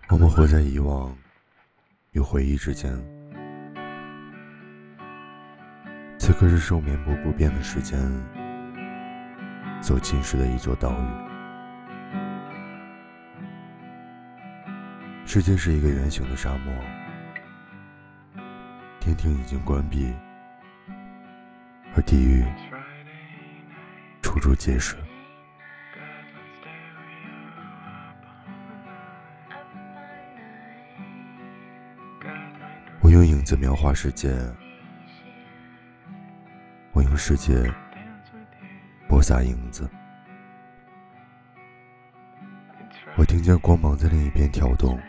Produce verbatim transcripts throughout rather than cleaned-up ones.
我们活在遗忘与回忆之间，此刻是受绵薄不变的时间所侵蚀的一座岛屿。世界是一个圆形的沙漠，天庭已经关闭，而地狱处处皆是。我用影子描画世界，我用世界播撒影子。我听见光芒在另一边跳动，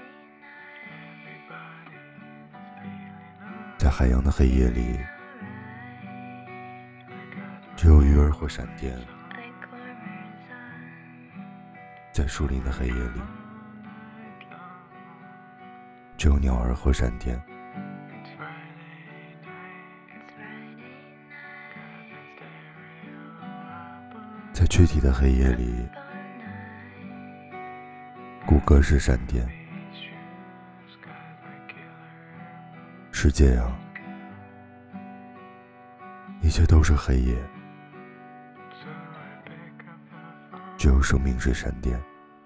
在海洋的黑夜里，只有鱼儿和闪电；在树林的黑夜里，只有鸟儿和闪电。在躯体的黑夜里，骨骼是闪电。世界啊，一切都是黑夜，只有生命是闪电。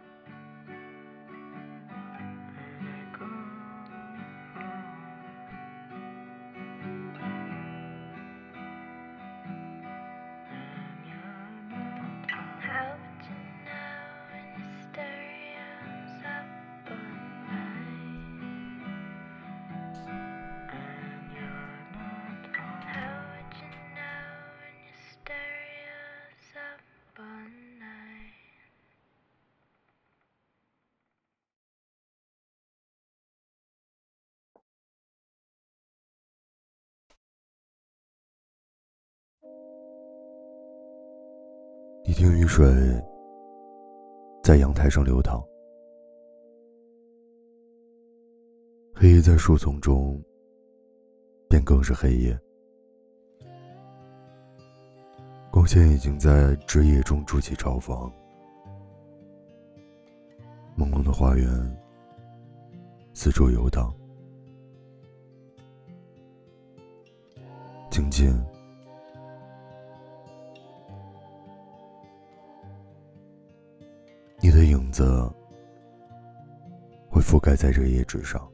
你听雨水在阳台上流淌，黑夜在树丛中便更是黑夜，光线已经在枝叶中筑起巢房。朦胧的花园四周游荡，静静你的影子会覆盖在这页纸上。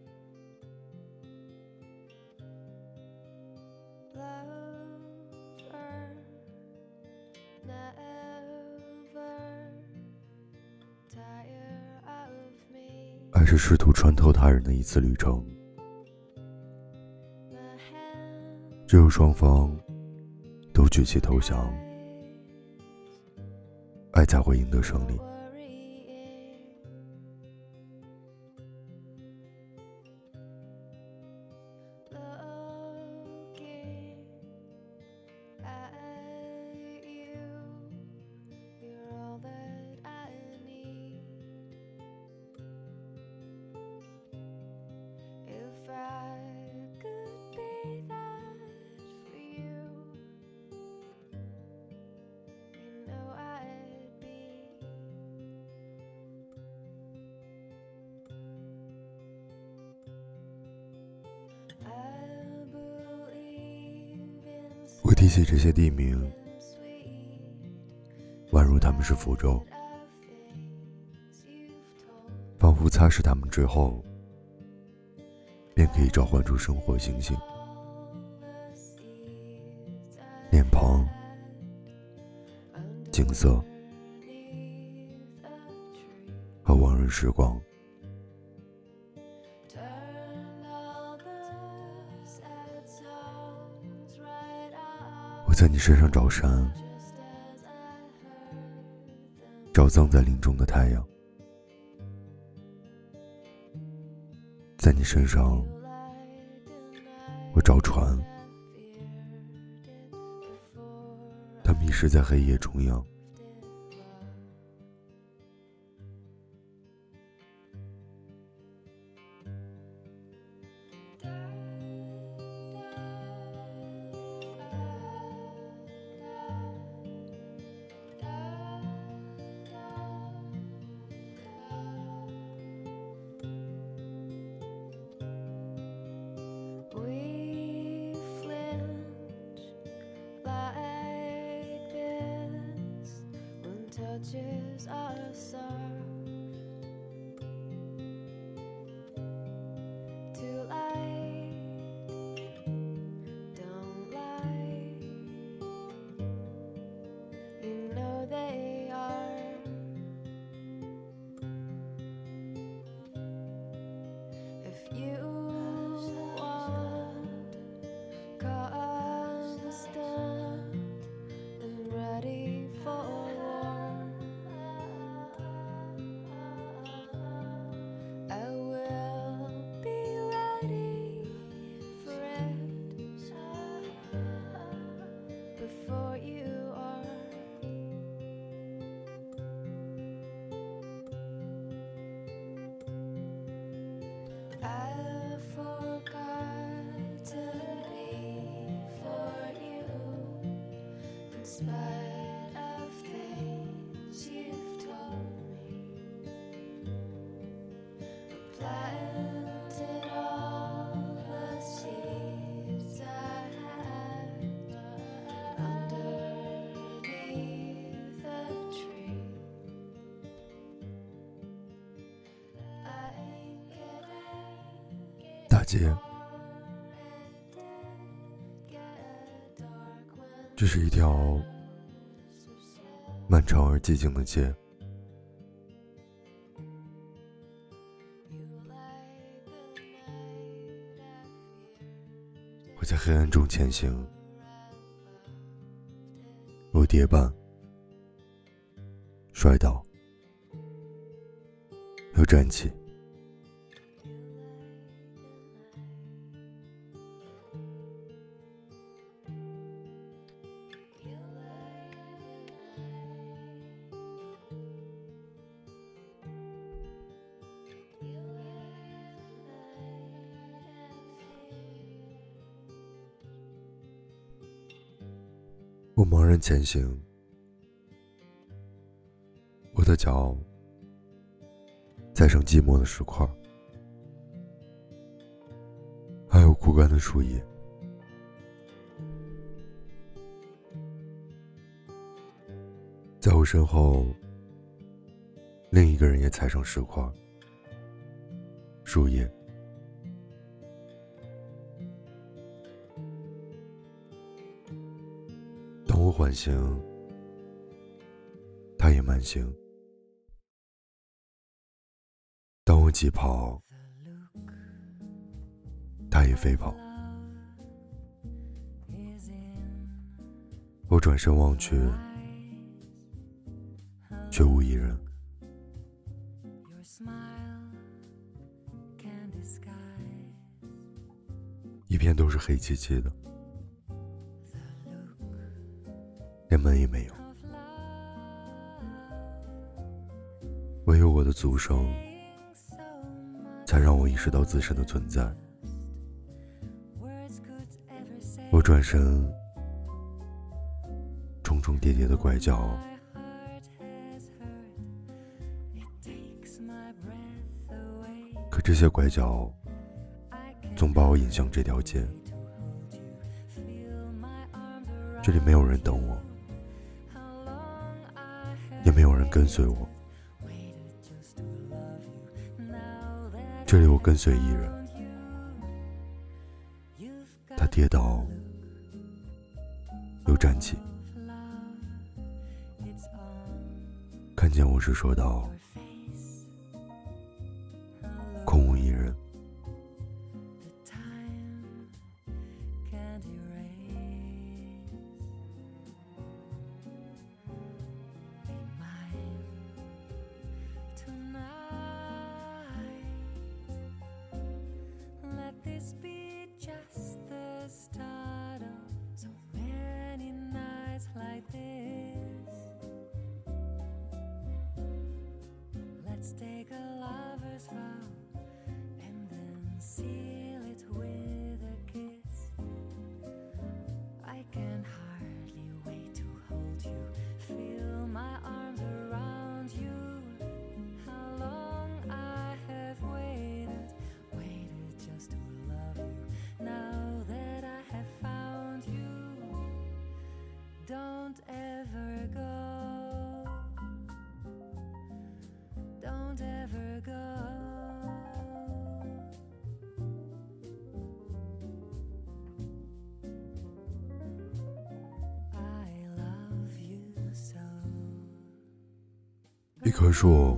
爱是试图穿透他人的一次旅程，只有双方都举起投降，爱才会赢得胜利。我提起这些地名，宛如他们是符咒，仿佛擦拭它们之后，便可以召唤出生活星星、脸庞、景色和往日时光。我在你身上找山，找葬在林中的太阳，在你身上我找船，它迷失在黑夜中央。 edges are soft to light, don't lie, you know they are. If you want constant and ready for war, I will be ready for it before you are. I forgot to be for you in spite of things you've told me. We planted all the seeds I had underneath the tree. I get it. 大街，这是一条漫长而寂静的街，我在黑暗中前行，我跌绊，摔倒，又站起。我茫然前行，我的脚踩上寂寞的石块，还有枯干的树叶。在我身后，另一个人也踩上石块、树叶。当我缓行，他也慢行；当我疾跑，他也飞跑。我转身望去，却无一人。一片都是黑漆漆的，连门也没有，唯有我的足声才让我意识到自身的存在。我转身，重重叠叠的拐角可这些拐角总把我引向这条街，这里没有人等我，也没有人跟随我，这里我跟随一人，他跌倒又站起，看见我时说道：空无一人。 This be just the start of so many nights like this. Let's take a lover's vow and then seal it with a kiss. I can hardly wait to hold you, feel my arms around you. How long I have waited, waited just to love you. Now that I have found you, don't ever go. don't ever go. I love you so. 一棵树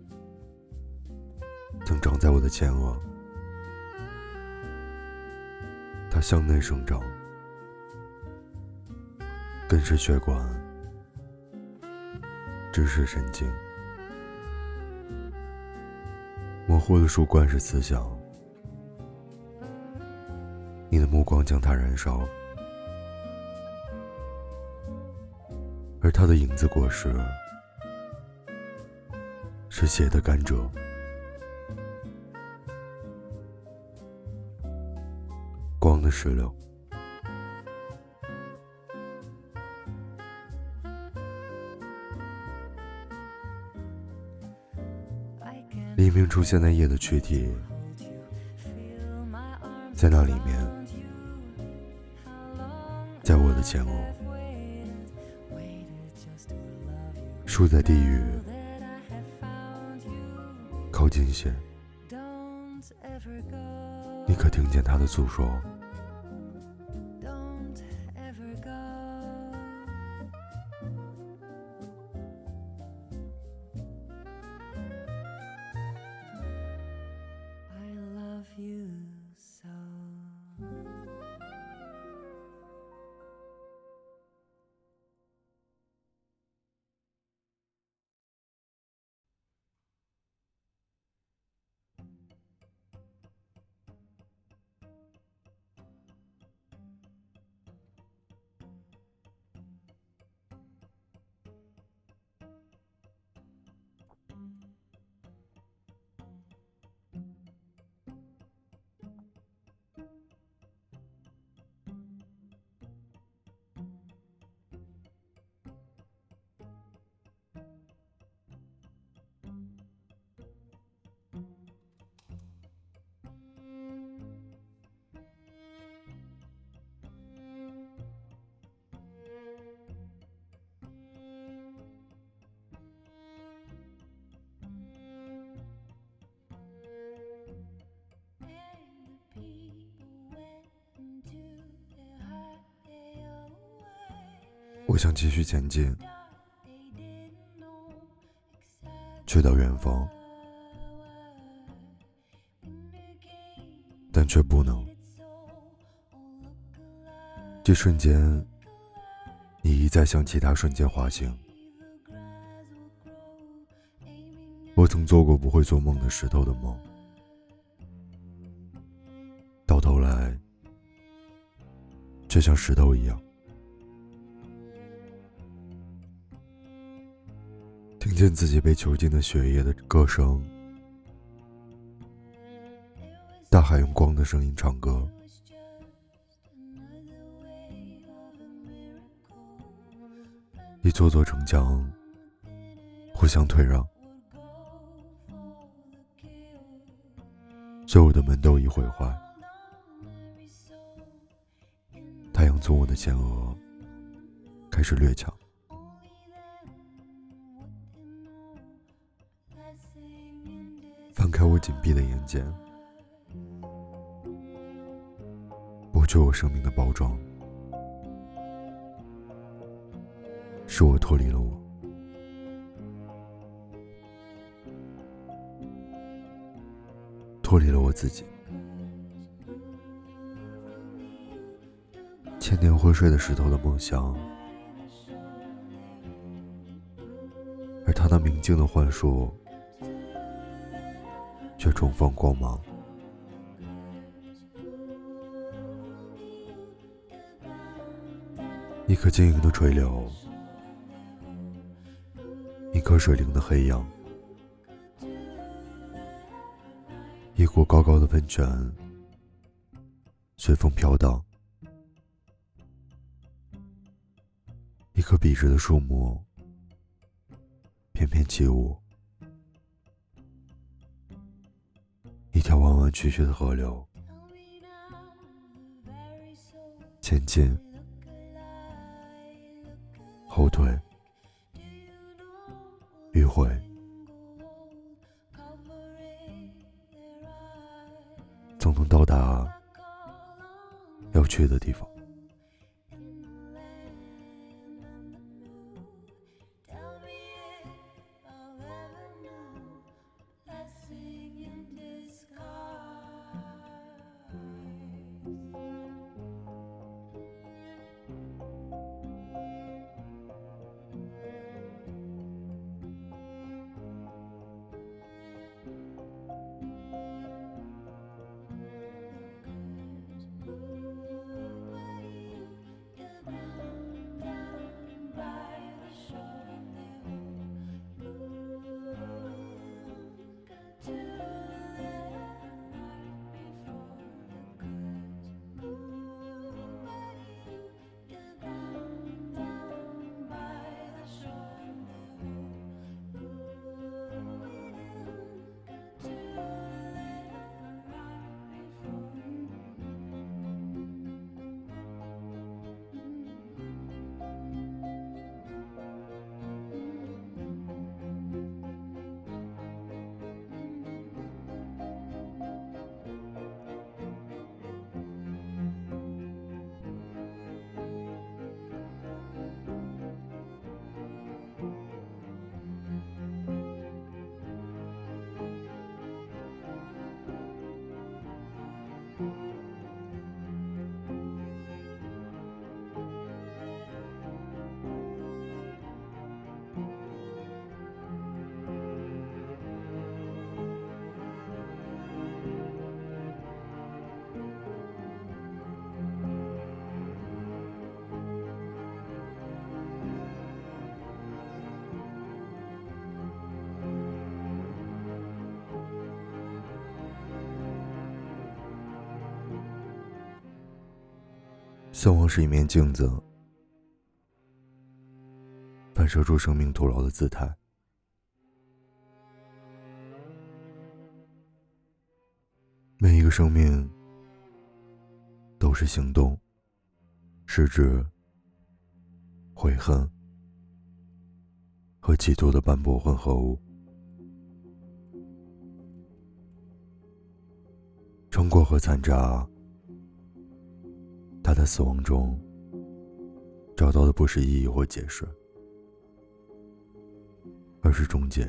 曾长在我的前额，它向内生长，根是血管，枝是神经，模糊的树冠是思想。你的目光将它燃烧，而它的影子果实是血的甘蔗。光的石榴，黎明出现在夜的躯体，在那里面，在我的前额，树在地狱，靠近些，你可听见他的诉说。我想继续前进，去到远方，但却不能。这瞬间，你一再向其他瞬间滑行。我曾做过不会做梦的石头的梦，到头来，却像石头一样。听见自己被囚禁的血液的歌声，大海用光的声音唱歌，一座座城墙互相退让，所有的门都已毁坏。太阳从我的前额开始掠抢，翻开我紧闭的眼睑，剥去我生命的包装，是我脱离了我，脱离了我自己。千年昏睡的石头的梦想，而他那明净的幻术却重放光芒。一颗晶莹的垂柳，一颗水灵的黑羊，一股高高的喷泉随风飘荡，一棵笔直的树木翩翩起舞，一条弯弯曲曲的河流，前进，后退，迂回， 到达要去的地方。死亡是一面镜子，反射出生命徒劳的姿态。每一个生命都是行动、失志、悔恨和嫉妒的斑驳混合物。成果和残渣，他在死亡中找到的不是意义或解释，而是终结。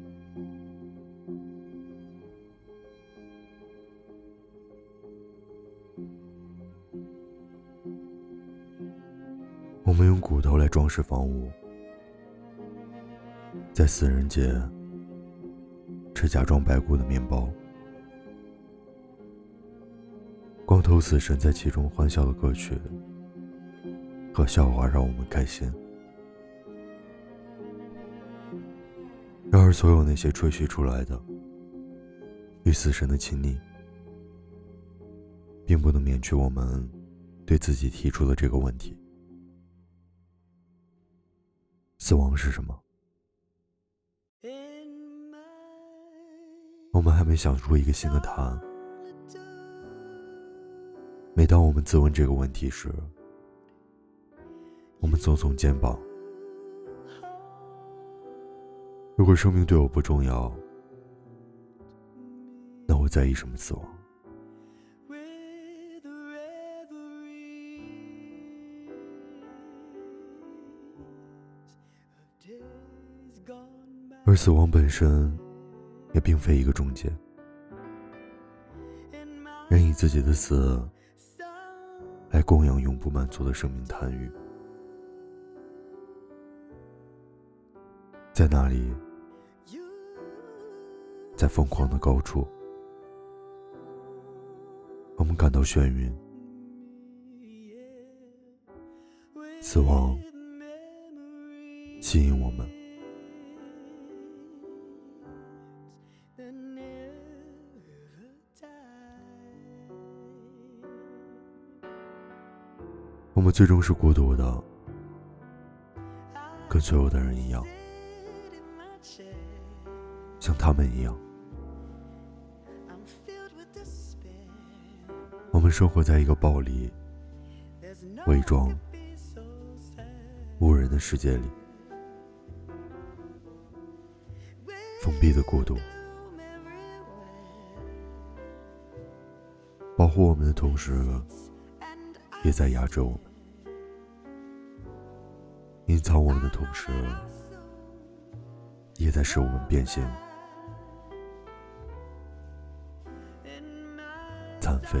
我们用骨头来装饰房屋，在死人节吃假装白骨的面包，光头死神在其中欢笑的歌曲和笑话让我们开心。然而所有那些吹嘘出来的与死神的亲昵，并不能免去我们对自己提出的这个问题：死亡是什么？我们还没想出一个新的答案。每当我们自问这个问题时，我们耸耸肩膀。如果生命对我不重要，那我在意什么死亡？而死亡本身也并非一个终结。人以自己的死来供养永不满足的生命贪欲，在那里，在疯狂的高处，我们感到眩晕。死亡吸引我们，我们最终是孤独的，跟所有的人一样，像他们一样。我们生活在一个暴力、伪装、无人的世界里，封闭的孤独。 保护我们的同时，也在压制我们；隐藏我们的同时，也在使我们变形、残废。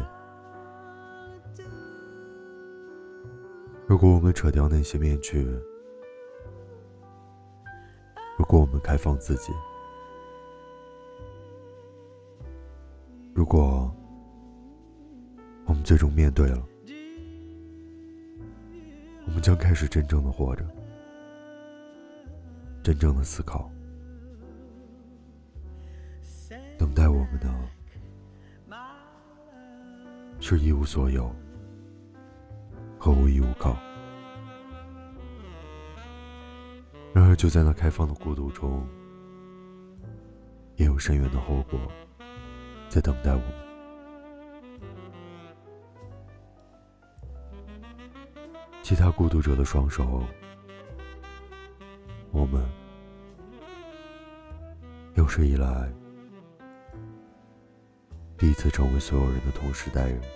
如果我们扯掉那些面具，如果我们开放自己，如果我们最终面对了，我们将开始真正的活着，真正的思考。等待我们的是一无所有和无依无靠。然而就在那开放的孤独中，也有深远的后果在等待我们。其他孤独者的双手，我们有史以来第一次成为所有人的同时代人。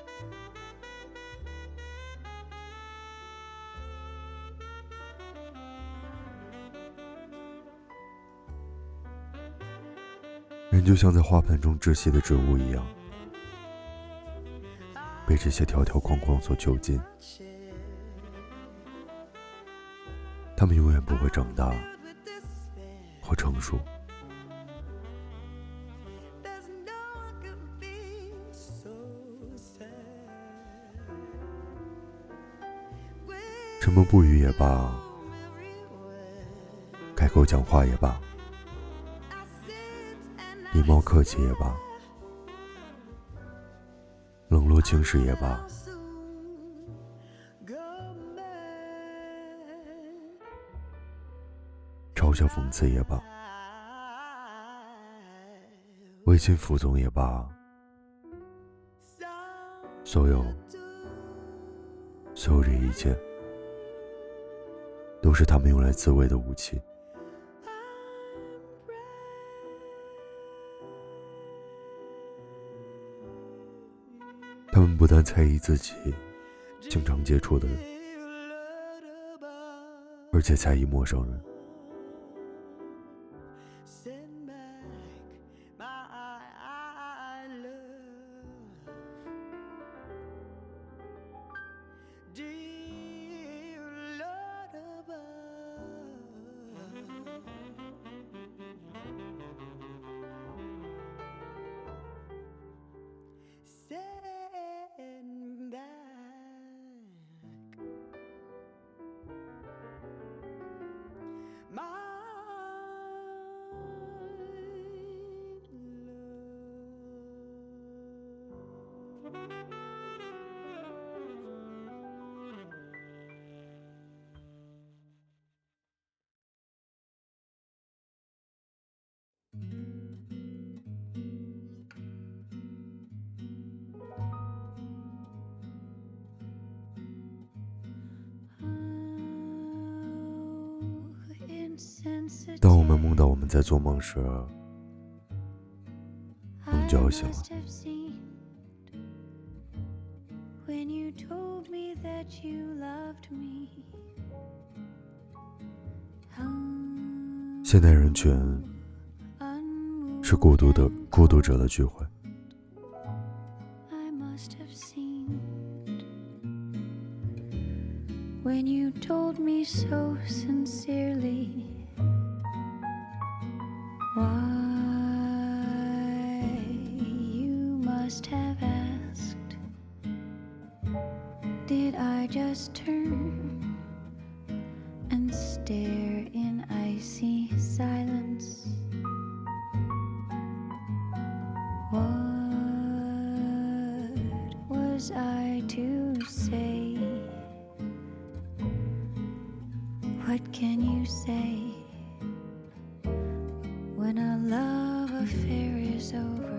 人就像在花盆中窒息的植物一样，被这些条条框框所囚禁。他们永远不会长大或成熟。沉默不语也罢，开口讲话也罢，礼貌客气也罢，冷落轻视也罢，嘲笑讽刺也罢，违心服从也罢，所有所有这一切都是他们用来自卫的武器。他们不但在意自己经常接触的人，而且在意陌生人。当我们梦到我们在做梦时，梦就要醒了。现代人群是孤独的孤独者的聚会。 When you told me so sincerely, why you must have asked, did I just turn and stare in icy silence? What was I to say? What can you say when a love affair is over?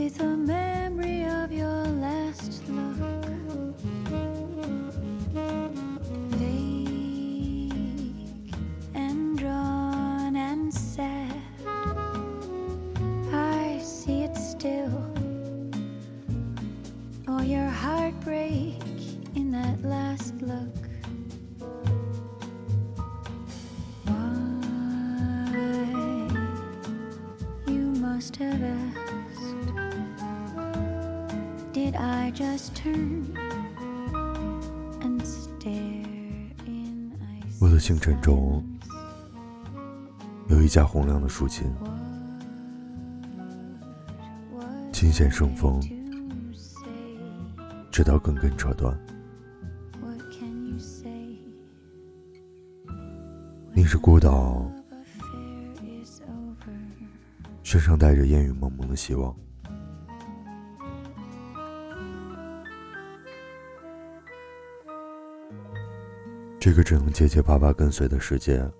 with the memory of your last look, vague and drawn and sad. I see it still, all your heartbreak in that last look. Must have asked, did I just turn and stare in ice? 我的星辰中有一架洪亮的竖琴，琴弦生风，直到根根扯断。你是孤岛，身上带着烟雨蒙蒙的希望。这个只能结结巴巴跟随的世界，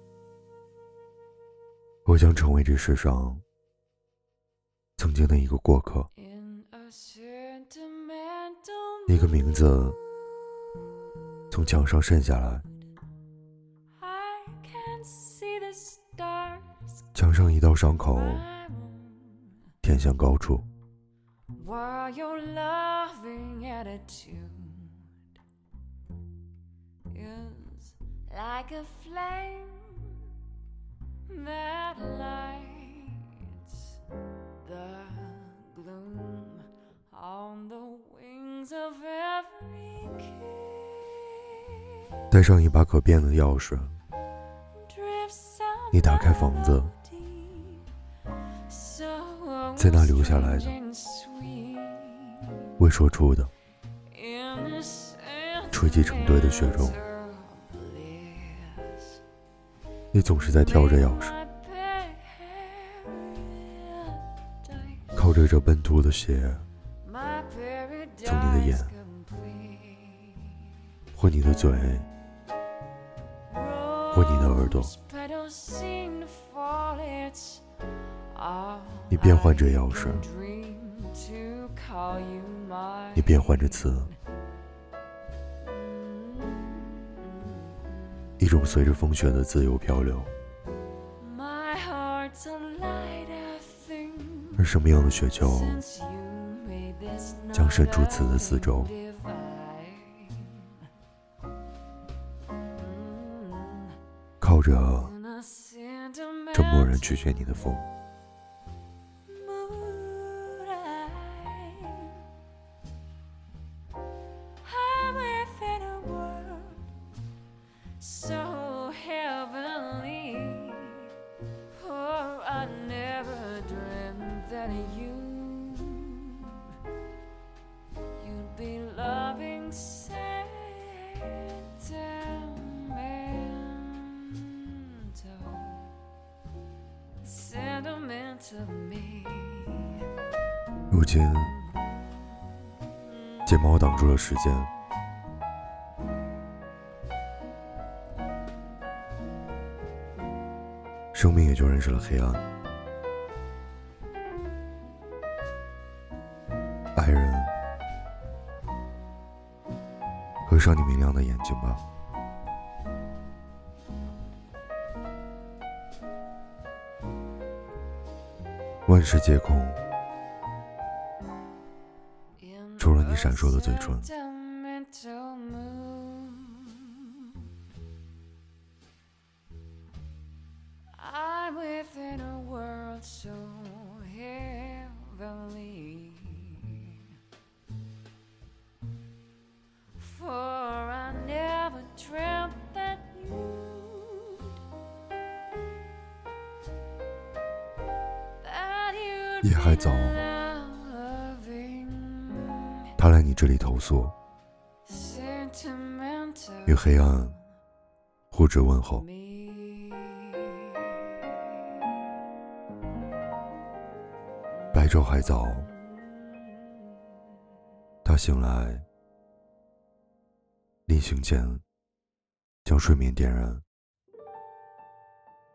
我将成为这世上曾经的一个过客，一个名字从墙上渗下来，墙上一道伤口天向高处。 While your loving attitude is like a flame that lights the gloom on the wings of every kiss. 带上一把可变的钥匙，你打开房子，在那留下来的，未说出的，堆积成堆的血肉。你总是在挑着钥匙，靠着这奔突的血，从你的眼，或你的嘴，或你的耳朵，你变换着钥匙，你变换着词，一种随着风雪的自由漂流。而什么样的雪球将伸出词的四周，靠着这蓦然拒绝你的风。 So heavenly, for I never dreamt that you you'd be loving sentimental, sentimental me. 如今，睫毛挡住了时间。生命也就认识了黑暗。爱人，合上你明亮的眼睛吧。万事皆空，除了你闪烁的嘴唇。 I'm within a world so heavenly, for I never dreamt that you'd, that you'd 夜还早， be loving 他来你这里投诉， sentimental 与黑暗互致问候。 me. 白昼还早，他醒来，临行前将睡眠点燃。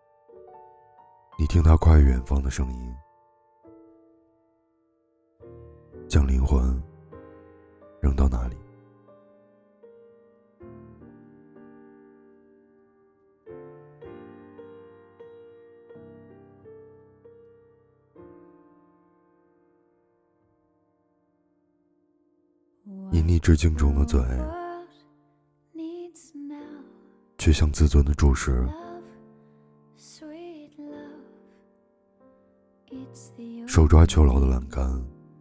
你听他跨越远方的声音， 灵魂扔到哪里。以你至敬中的嘴，却像自尊的注视，手抓囚牢的栏杆，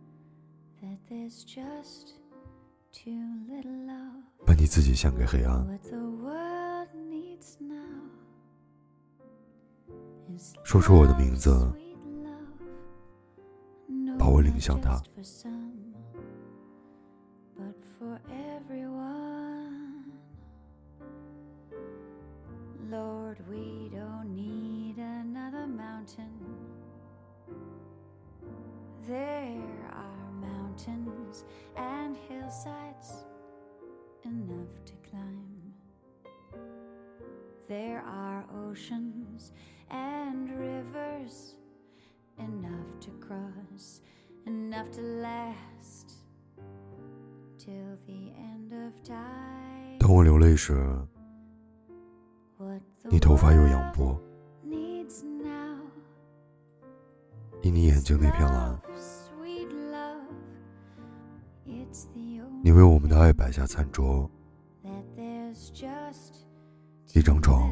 把你自己献给黑暗。说出我的名字，把我领向他。 Lord, we don't need another mountain. There are mountains and hillsides enough to climb. There are oceans and rivers enough to cross, enough to last till the end of time. 当我流泪时，你头发又扬波，以你眼睛那片蓝，你为我们的爱摆下餐桌，一张床，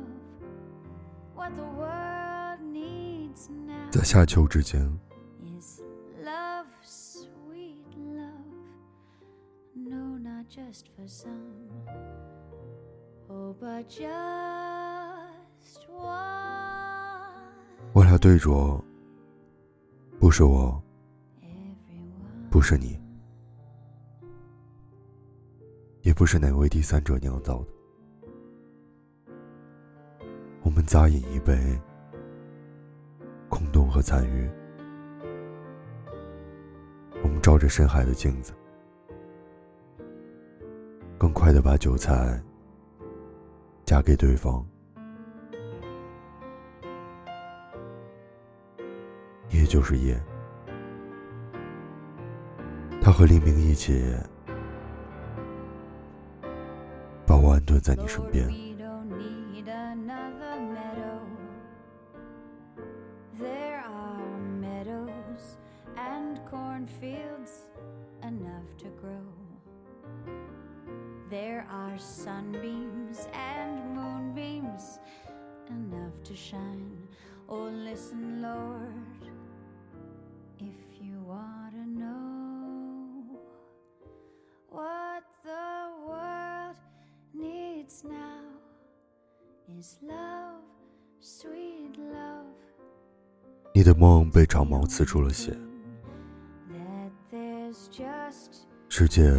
在夏秋之间，我俩对酌，不是我，不是你，也不是哪位第三者酿造的。我们咂饮一杯，空洞和残余。我们照着深海的镜子，更快地把酒菜夹给对方。夜就是夜，他和黎明一起把我安顿在你身边。 There are sunbeams and moonbeams enough to shine. Oh, listen, Lord, if you want to know what the world needs now is love, sweet love. 你的梦被长矛刺出了血，世界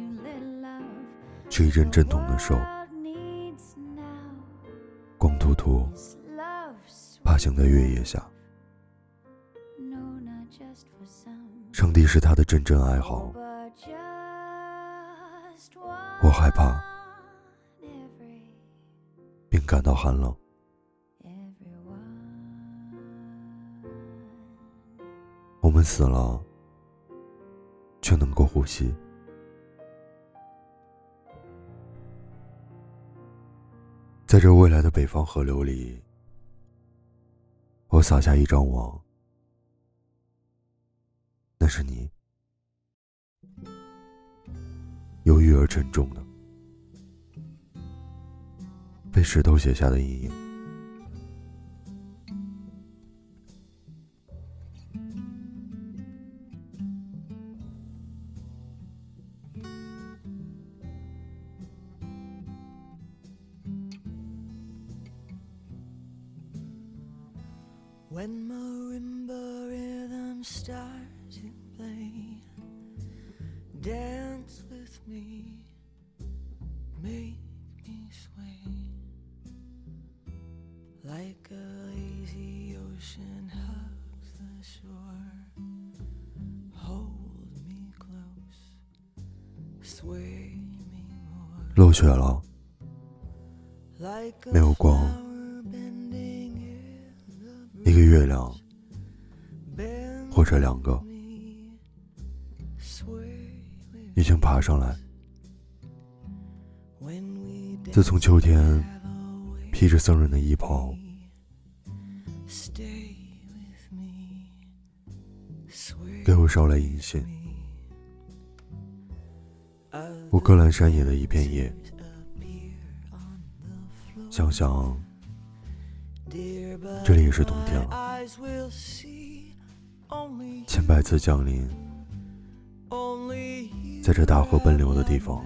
是一阵阵痛的手，光秃秃爬行在月夜下。上帝是他的阵阵哀嚎，我害怕并感到寒冷。我们死了，却能够呼吸。在这未来的北方河流里，我撒下一张网，那是你，忧郁而沉重的，被石头写下的阴影。 When marimba rhythms start to play, dance with me, make me sway, like a lazy ocean hugs the shore. Hold me close, sway me more. 落雪了，没有光，一个月亮，或者两个， 已经爬上来。自从秋天披着僧人的衣袍，给我捎来银杏，我割阑山野的一片叶，想想这里也是冬天了，千百次降临，在这大河奔流的地方，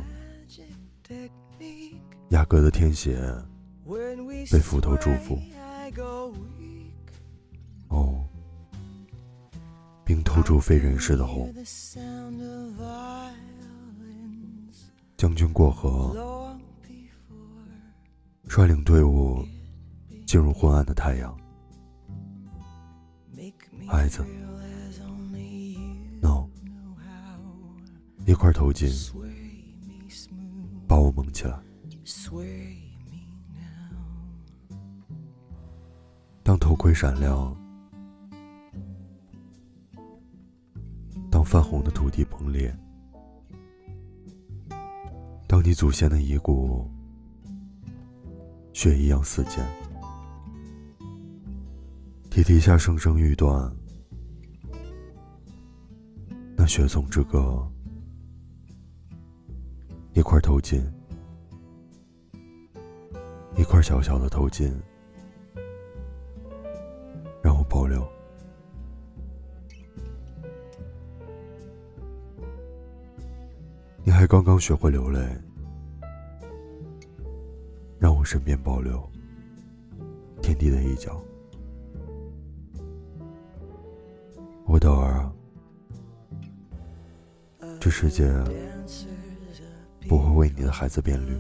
雅阁的天鞋被斧头祝福。哦，并透出非人世的红。将军过河，率领队伍进入昏暗的太阳。孩子 ，no， 一块头巾把我蒙起来。当头盔闪亮，当泛红的土地崩裂，当你祖先的遗骨血一样四溅，蹄蹄下声声欲断，那血纵之歌，一块头巾，一块小小的头巾，让我保留。你还刚刚学会流泪，让我身边保留天地的一角。我的儿啊，这世界不会为你的孩子变绿。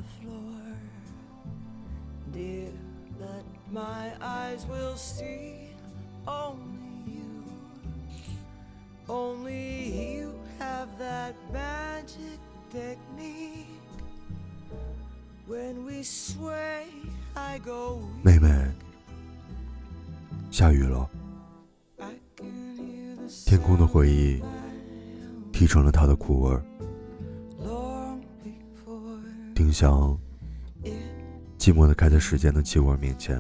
妹妹，下雨了。天空的回忆提成了它的苦味儿。丁香寂寞地开在时间的气味面前，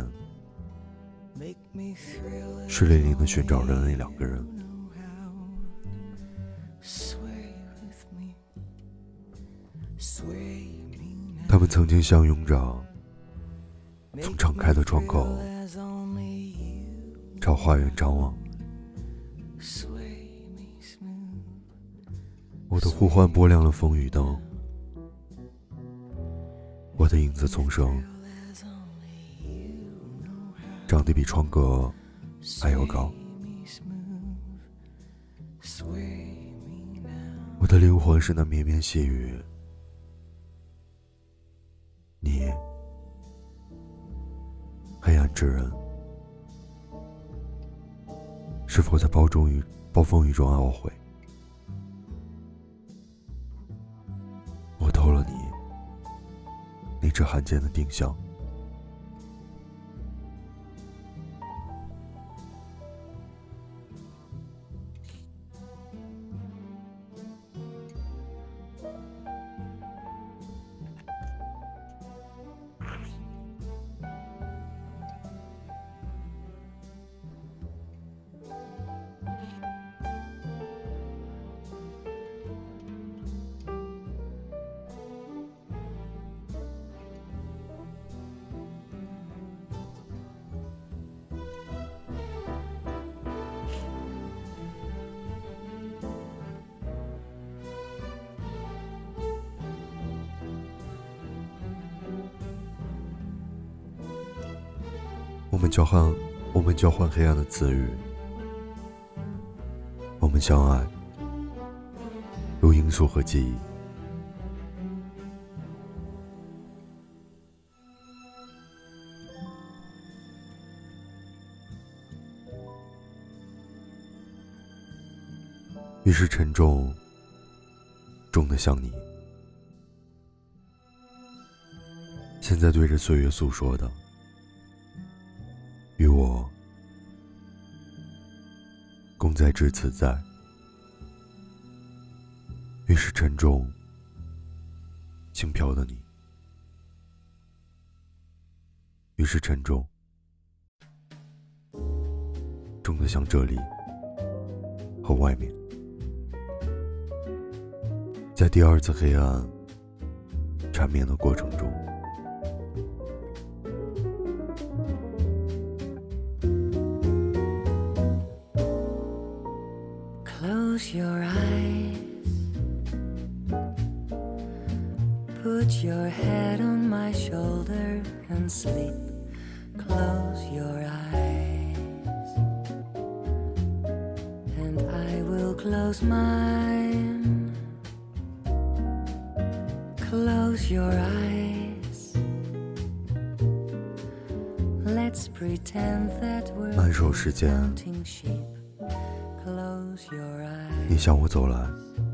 湿淋淋地寻找着那两个人。他们曾经相拥着，从敞开的窗口朝花园张望。我的呼唤拨亮了风雨灯，我的影子丛生，长得比窗格还要高。我的灵魂是那绵绵细雨，你黑暗之人，是否在暴中雨暴风雨中懊悔？我偷了你那只罕见的丁香。我们交换，我们交换黑暗的词语，我们相爱，如罂粟和记忆。于是沉重，重得像你。现在对着岁月诉说的，与我共在至此在。 是沉重轻飘的你，于是沉重重得像这里和外面。在第二次黑暗缠绵的过程中， Close your eyes, put your head on my shoulder and sleep. Close your eyes, and I will close mine. Close your eyes, let's pretend that we're 慢手时间 counting sheep. Close your eyes, 你向我走来，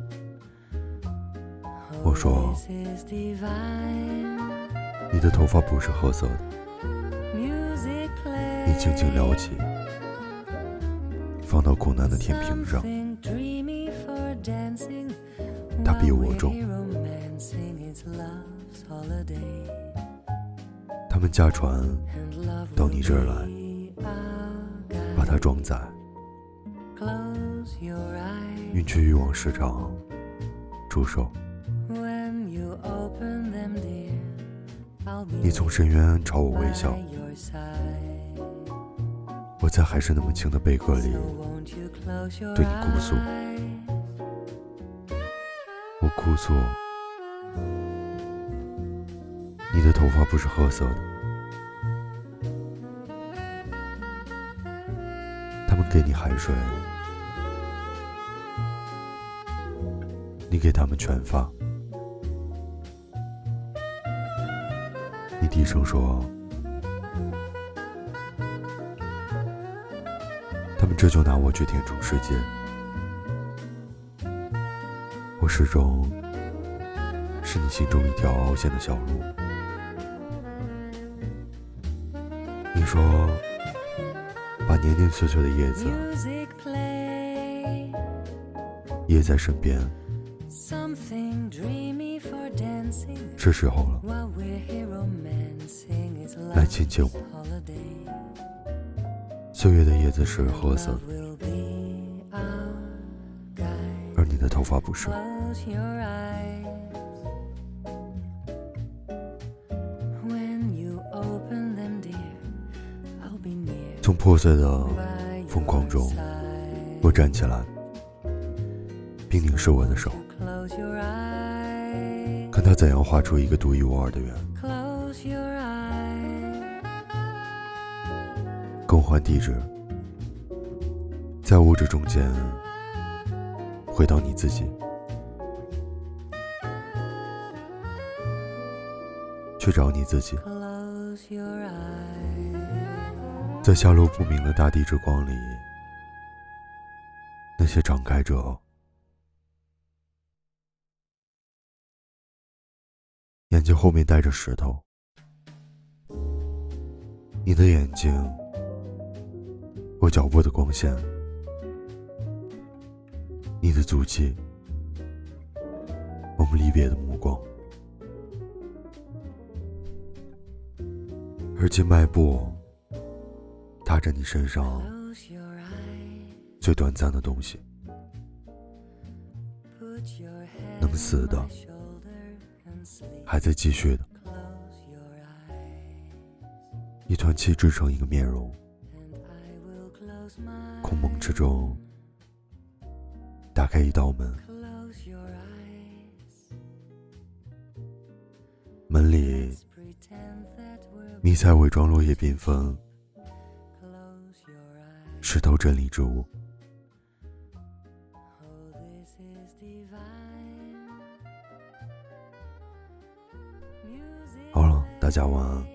我说 this is divine. 你的头发不是褐色的， Music 你轻轻 plays, 撩起，放到苦难的天平上， something dreamy for dancing. 它比我 While 重。 we're romancing, it's love's holiday. 他们驾船 And love 到 will 你这儿来， be our 把 guide. 它装载， Close your eyes, 运去欲望市场出售。 when you open them, dear, I'll be 你从深渊朝我微 by 笑， your side. 我在还是那么轻的贝壳里， So won't you close your 对你哭诉。 eyes? 我哭诉，你的头发不是褐色的。他们给你海水，你给他们全发。你低声说，他们这就拿我去填充世界。我始终是你心中一条凹陷的小路。你说，把年年岁岁的叶子 Music play, 掖在身边， something dreamy for dancing. 是时候了， While we're here romancing, it's 来 love's 亲亲我。 holiday. 岁月的叶子是褐色 Love 的， will be our guide. 而你的头发不是。 Close your eyes, when you open them, dear, I'll be near 从破碎的 by 疯狂 your 中， side. 我站起来，并凝视我的手， Close your eyes, 看他怎样画出一个独一无二的圆。 close your eyes, 更换地址，在物质中间回到你自己，去找你自己。 close your eyes. 在下落不明的大地之光里，那些敞开着眼睛后面带着石头，你的眼睛，我脚步的光线，你的足迹，我们离别的目光，而今迈步踏着你身上 Close your eyes, 最短暂的东西， put your head 能死的 on my shoulder and sleep. 还在继续的， Close your eyes, 一团气织成一个面容， and I will close my 空蒙之中打开一道门， Close your eyes, 门里 let's pretend that we're 迷彩伪装落叶缤纷， close your eyes. 石头真理之物。 Oh, this is divine. Music 好了，大家晚安。